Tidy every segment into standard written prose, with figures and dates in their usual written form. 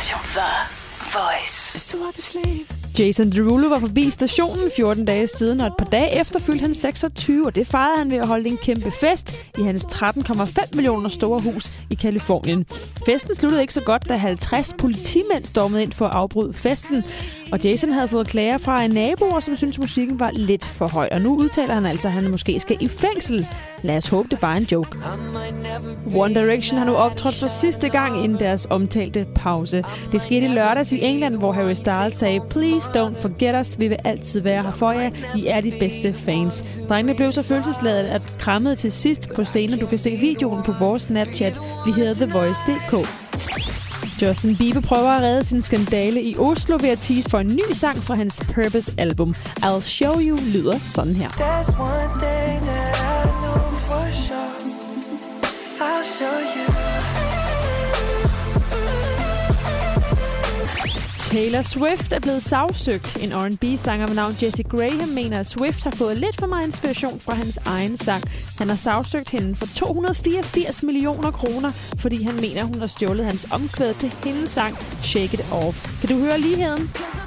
Station The Voice. Jason Derulo var forbi stationen 14 dage siden, og et par dage efter fyldte han 26, og det fejrede han ved at holde en kæmpe fest i hans 13,5 millioner store hus i Californien. Festen sluttede ikke så godt, da 50 politimænd stormede ind for at afbryde festen, og Jason havde fået klager fra naboer, som syntes musikken var lidt for høj, og nu udtaler han altså, at han måske skal i fængsel. Lad os håbe, det er bare en joke. One Direction har nu optrådt for sidste gang inden deres omtalte pause. Det skete i lørdags i England, hvor Harry Styles sagde, "Please don't forget us, vi vil altid være her for jer, I er de bedste fans." Drengene blev så følelsesladet at krammede til sidst på scenen. Du kan se videoen på vores Snapchat. Vi hedder TheVoice.dk. Justin Bieber prøver at redde sin skandale i Oslo ved at tease for en ny sang fra hans Purpose-album. I'll Show You lyder sådan her. I'll show you. Taylor Swift er blevet sagsøgt. En R&B-sanger ved navn Jessie Graham mener, at Swift har fået lidt for meget inspiration fra hans egen sang. Han har sagsøgt hende for 284 millioner kroner, fordi han mener, hun har stjålet hans omkvæd til hendes sang Shake It Off. Kan du høre ligheden?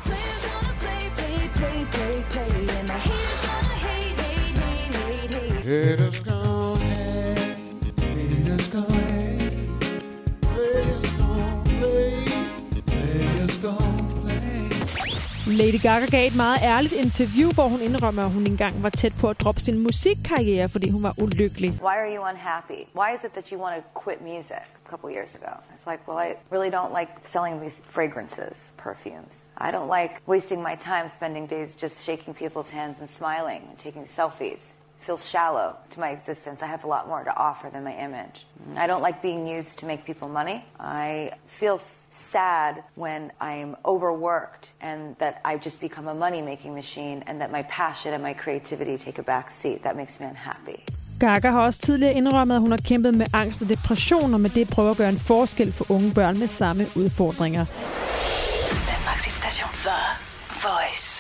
Lady Gaga gav et meget ærligt interview, hvor hun indrømmer, at hun engang var tæt på at droppe sin musikkarriere, fordi hun var ulykkelig. Why are you unhappy? Why is it that you want to quit music a couple years ago? It's like, well, I really don't like selling these fragrances, perfumes. I don't like wasting my time spending days just shaking people's hands and smiling and taking selfies. It feels shallow to my existence. I have a lot more to offer than my image. I don't like being used to make people money. I feel sad when I'm overworked and that I just become a money-making machine and that my passion and my creativity take a back seat. That makes me unhappy. Gaga har også tidligere indrømmet, at hun har kæmpet med angst og depression, og med det prøver at gøre en forskel for unge børn med samme udfordringer. Danmarks Station The Voice.